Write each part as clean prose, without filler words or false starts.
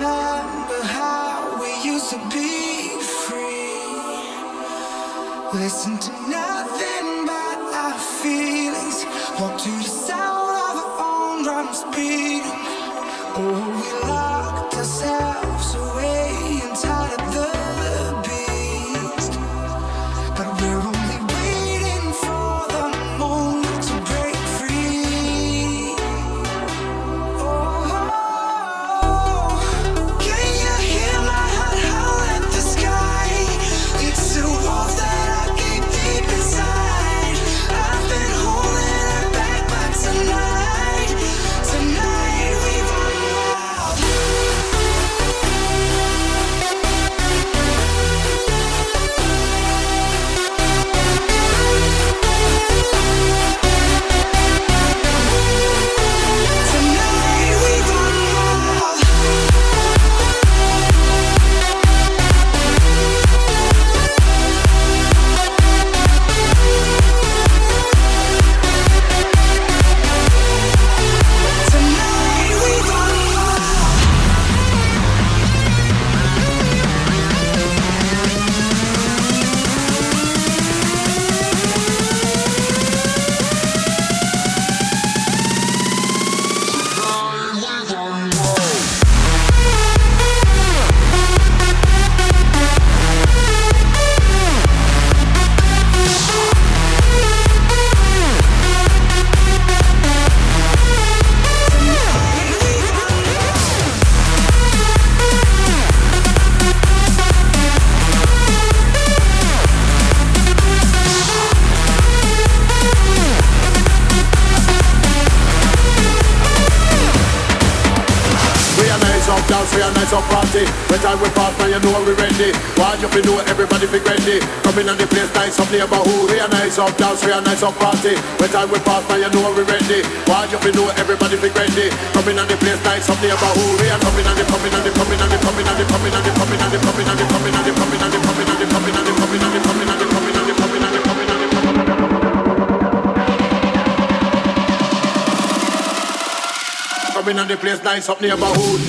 remember how we used to be free. Listen to nothing but our feelings. Walk to the sound of our own drums beating. Oh, we locked ourselves away inside of the beast. But we're only waiting for the moment to break free. Oh, can you hear my heart howl at the sky? It's the walls that I keep deep inside. I've been holding it back, but tonight we run wild. Tonight we run wild. Tonight we run wild. Dance for a nice up party. When time we pass, now you know we ready. Why you fi know everybody be ready? Come in on the place, nice up neighborhood. We a nice up dance for a nice up party. When time we pass, now you know we ready. Why you fi know everybody be ready? Come in on the place, nice up neighborhood. We a coming on the coming on the coming on the coming on the coming on the coming on the coming on the coming on the coming on the coming on the coming on the coming on the coming on the coming on the coming on the coming on the coming on the place, nice up neighborhood.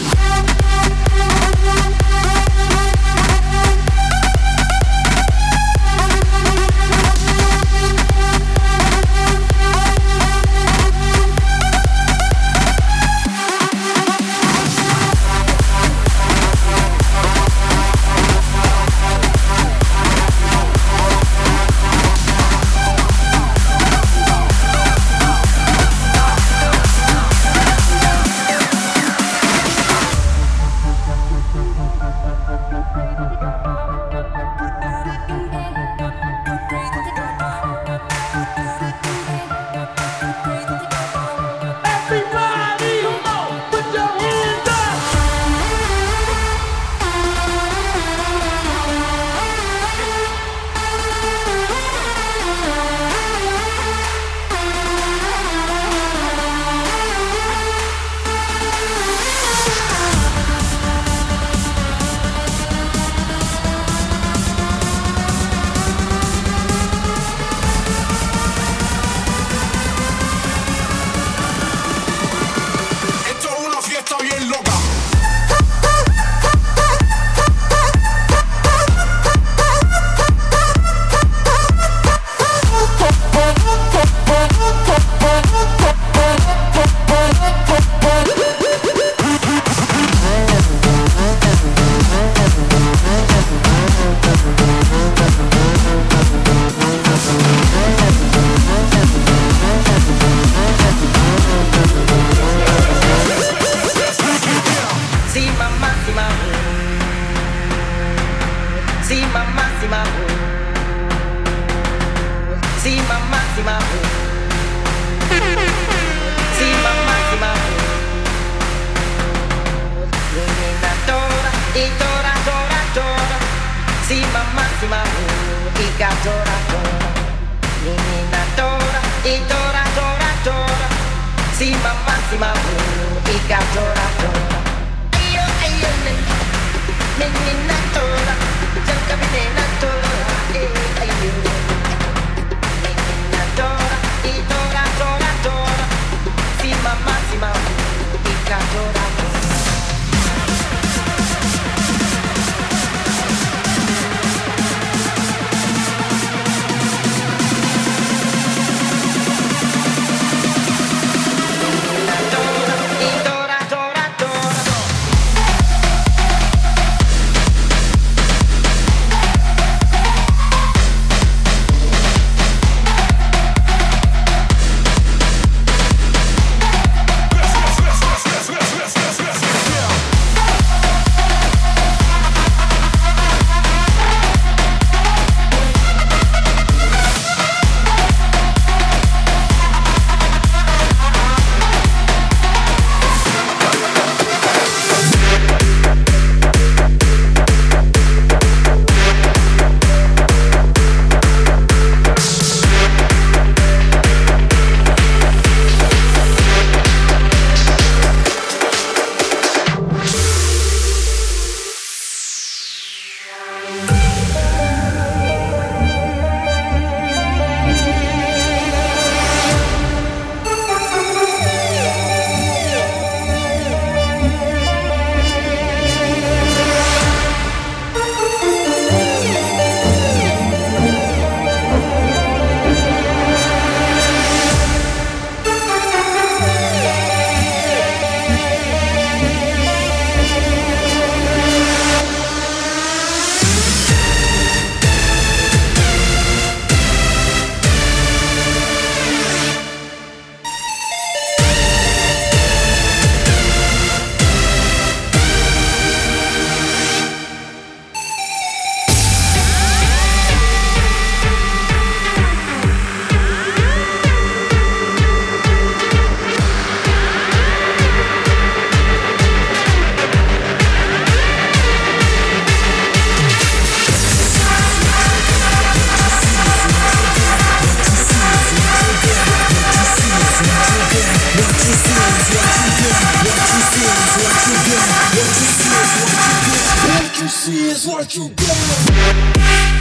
is what you get.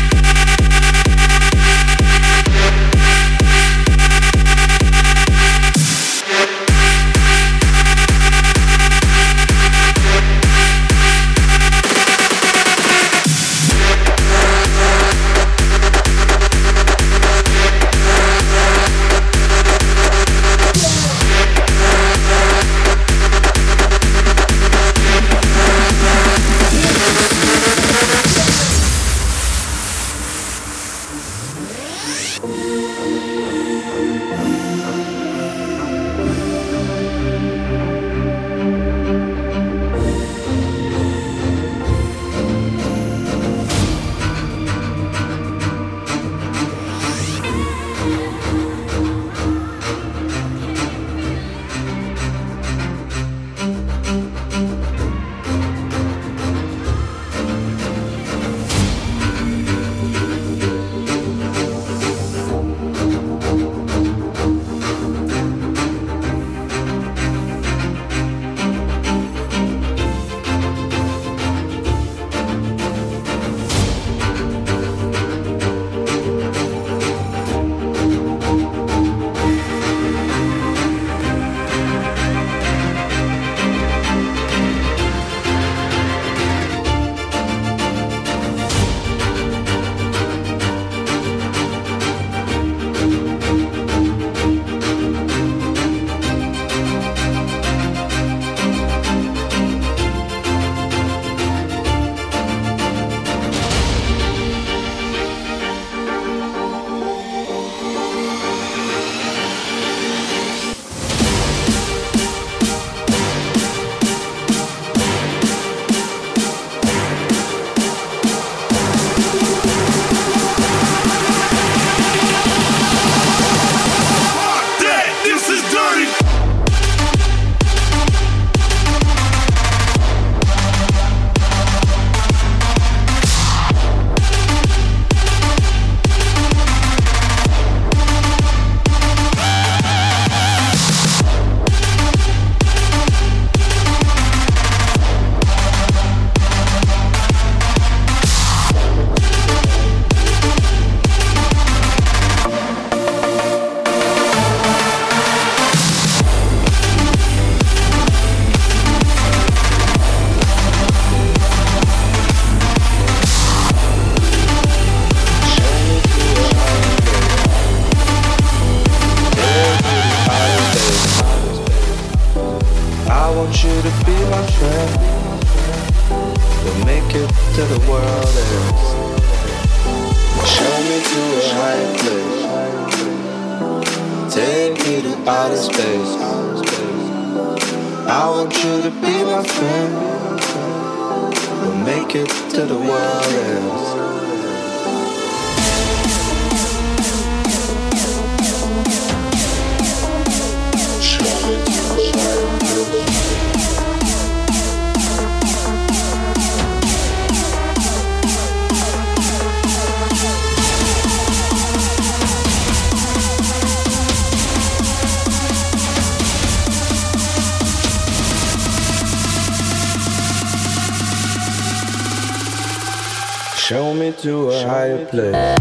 Show me to a higher place.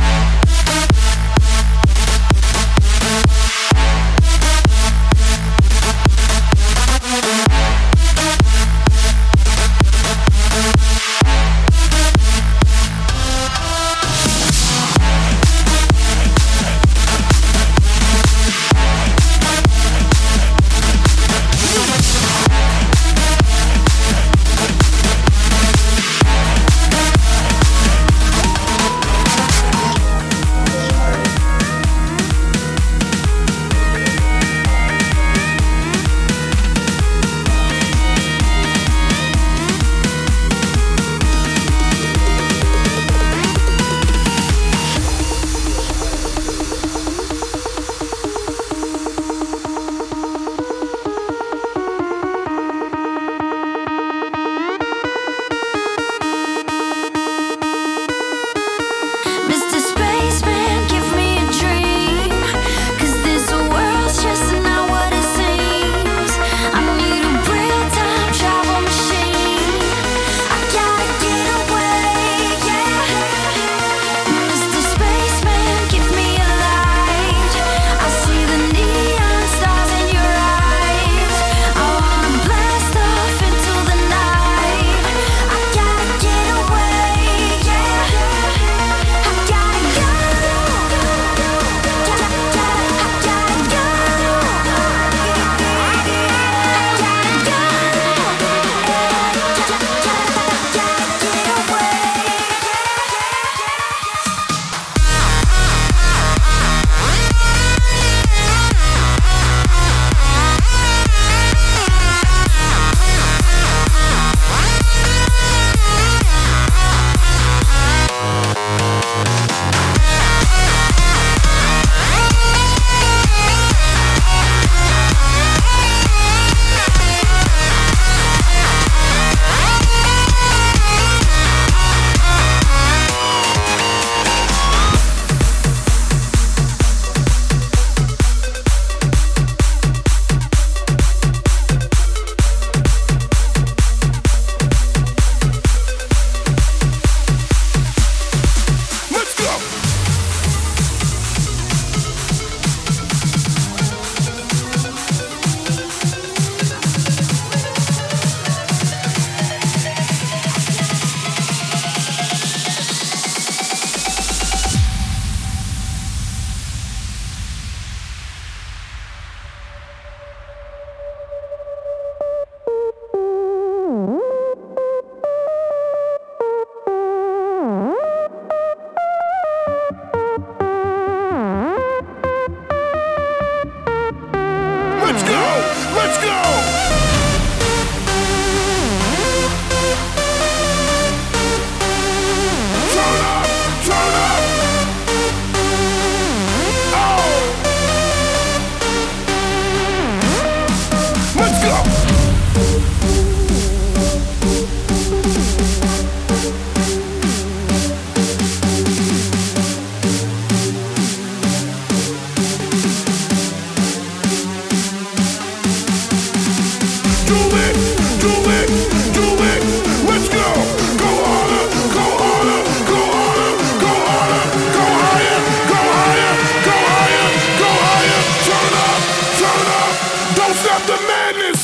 do it, do it, do it. Let's go. Go harder, go harder, go harder, go harder, go higher, go higher, go higher, go higher. Turn up, turn up. Don't stop the madness.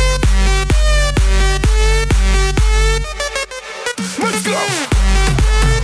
Let's go.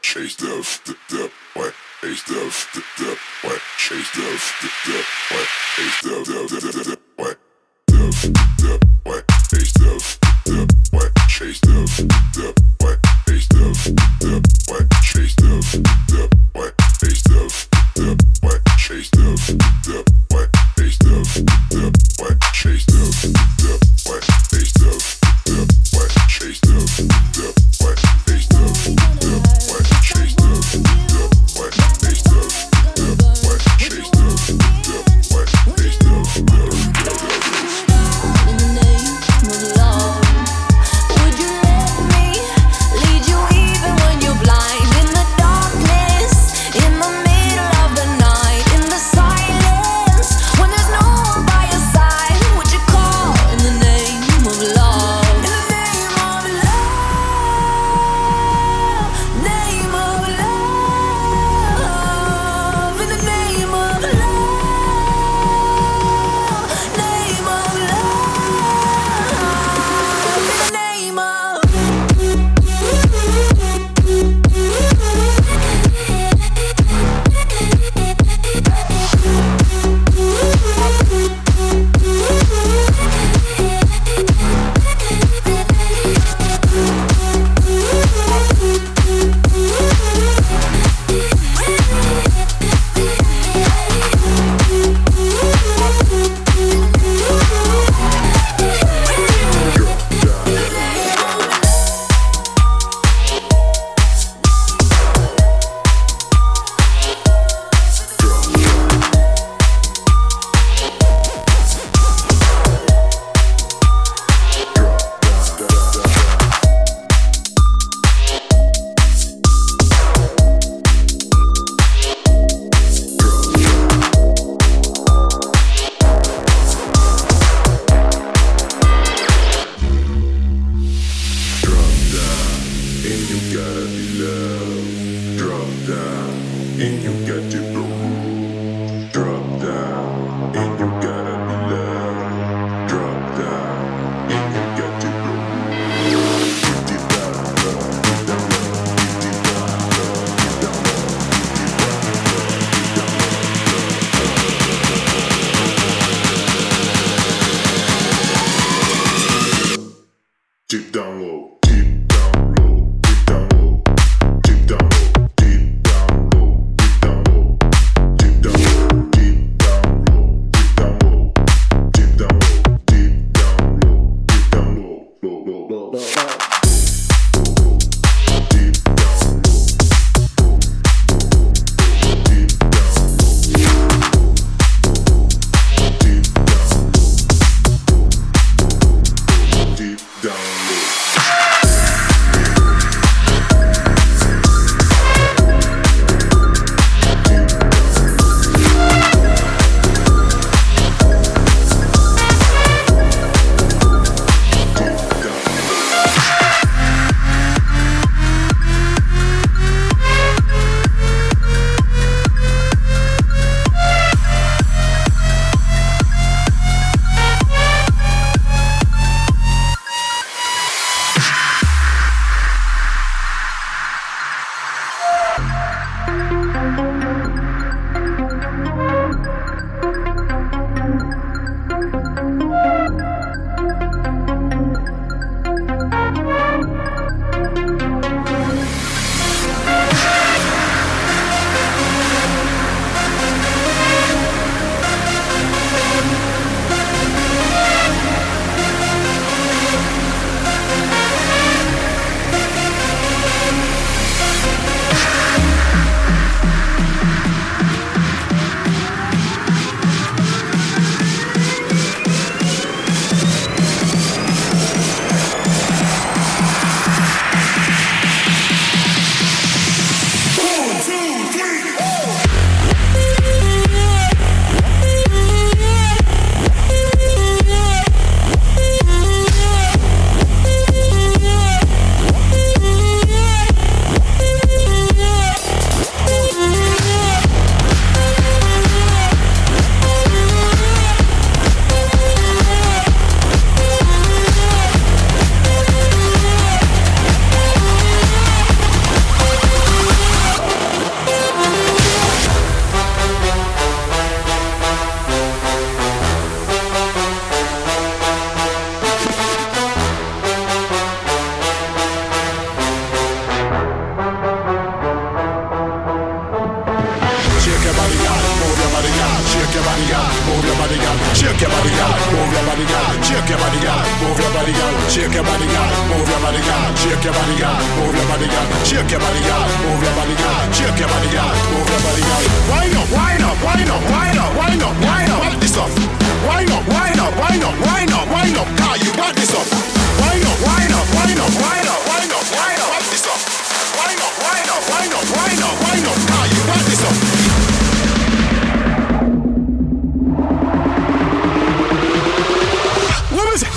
chase the what, chase the what, chase the what, chase the what, what, chase the what, chase the what, chase the what, chase the what, chase the what, chase the what, chase the what, chase the what, chase the what, chase the what, chase the what, chase the what, chase the what, chase the what, chase the In the name of love, would you let me lead you even when you're blind? In the darkness, in the middle of the night, in the silence, when there's no one by your side, would you call in the name of love? In the name of love, name of love, in the name of love, name of love, in the name of. Deep down low, deep down low, deep down low, deep down low, deep down low, deep down low, shake your body, girl, move your body, girl, shake your body, girl, move your body, girl, shake your body, girl, move your body, girl, shake your body, girl, move your body, girl, shake your body, girl, move your body, girl, shake your body, girl, move your body, girl, shake your body, girl, move your body, girl. Wind up, wind up, wind up, wind up, wind up, wind up, wind this up. Wind up, wind up, wind up, wind up, wind up, car, you got this up. Wind up, wind up, wind up, wind up, wind up, wind up, wind this up. Wind up, wind up, wind up, wind up, wind up, car, you got this up. What is it?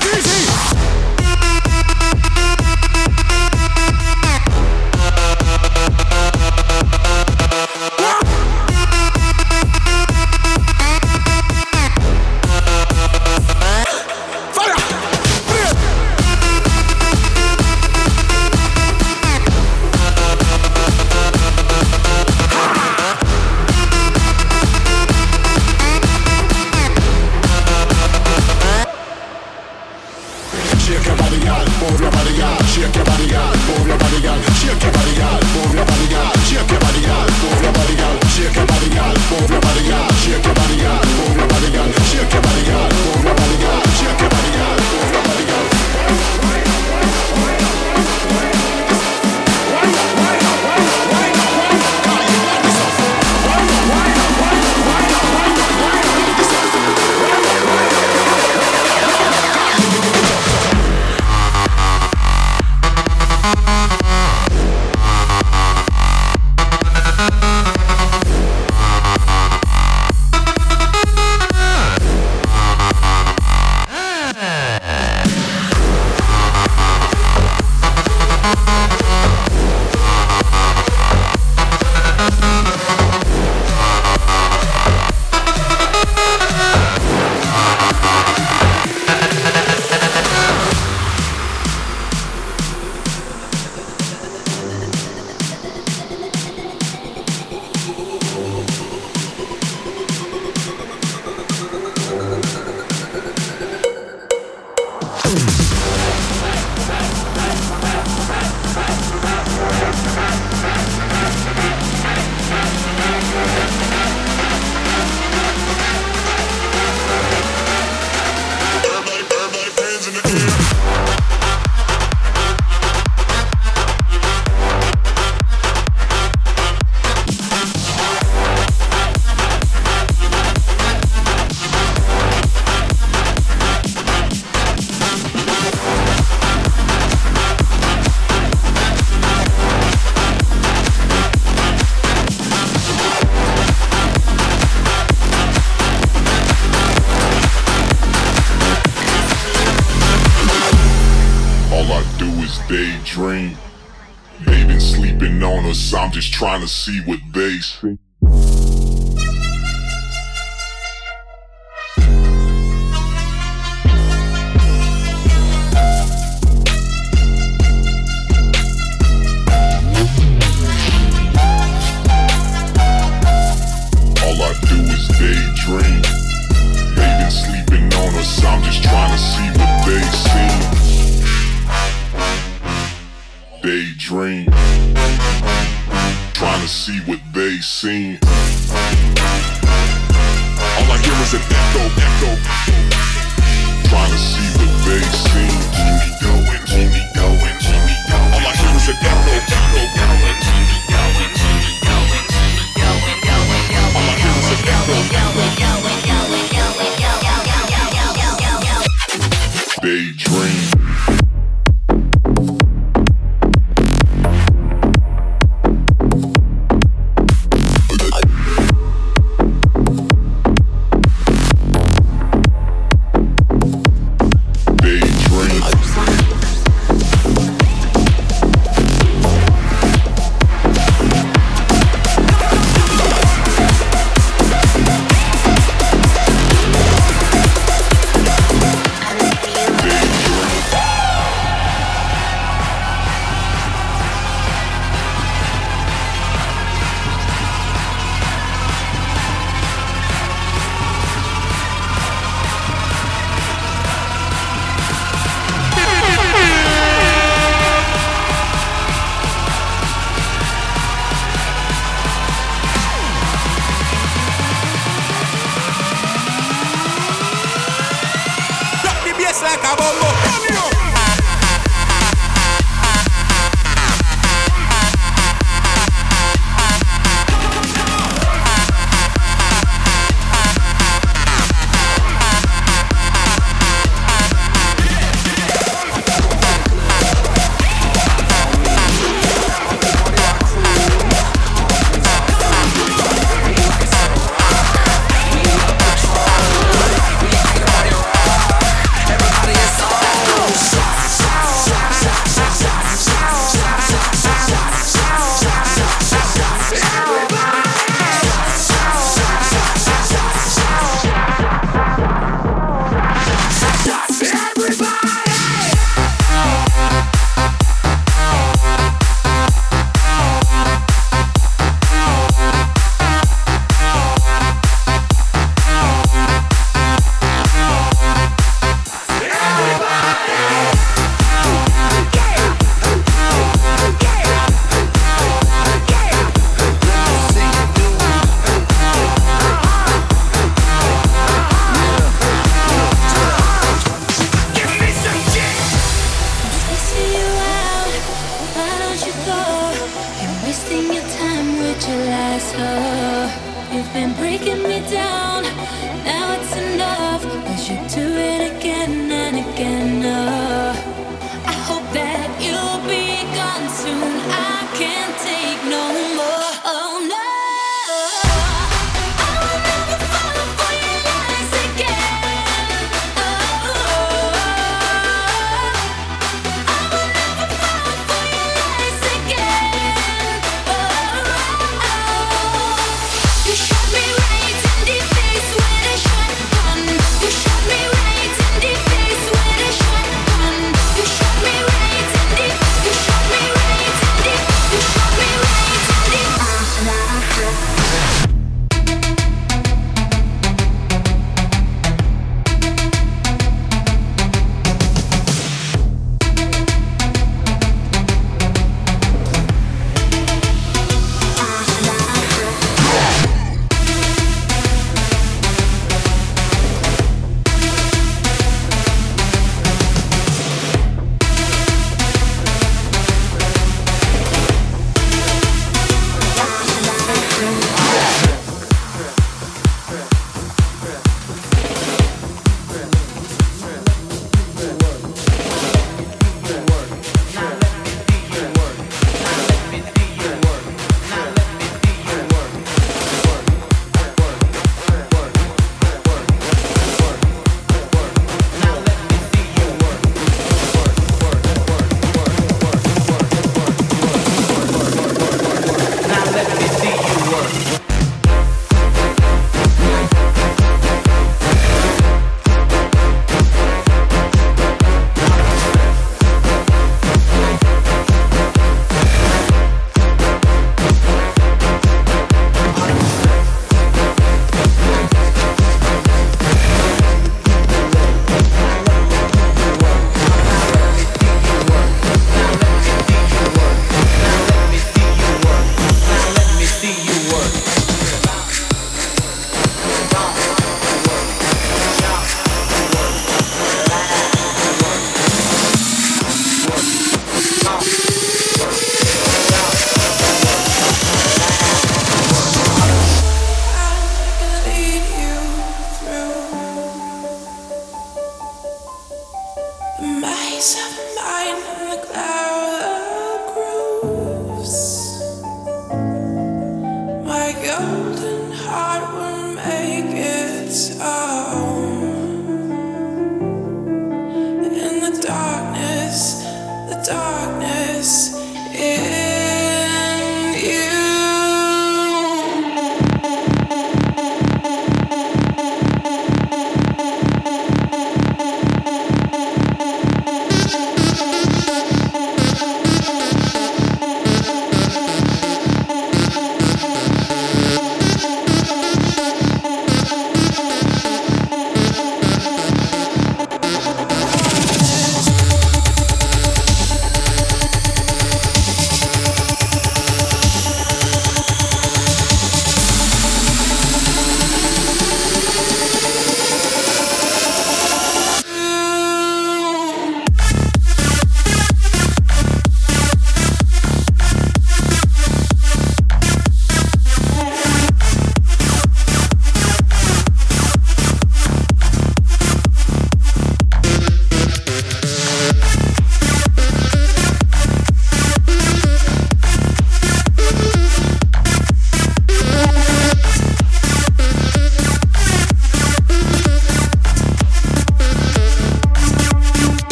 Daydream. They been sleeping on us, I'm just trying to see what they see. All I do is daydream. They been sleeping on us, I'm just trying to see what they see. Daydream, trying to see what they seen. All I hear is an echo, echo. Trying to see what they seen. Keep me going, keep me going, keep me going. All I hear is an echo, echo. All I hear is an echo. Daydream. a bumbo. Now it's enough, 'cause you do it again and again. Oh.